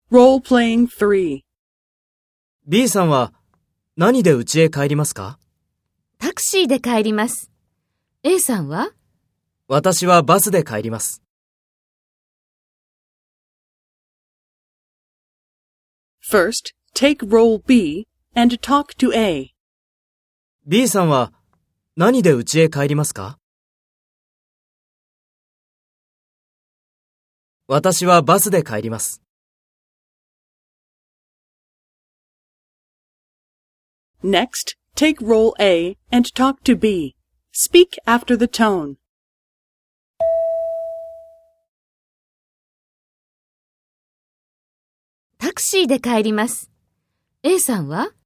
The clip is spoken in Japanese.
Role-playing 3. B さんは何で家へ帰りますか？ タクシーで帰ります。A さんは？ 私はバスで帰ります。 First, take role B and talk to A. B さんは何で家へ帰りますか？私はバスで帰ります。 Next, take role A and talk to B. Speak after the tone. タクシーで帰ります。A さんは？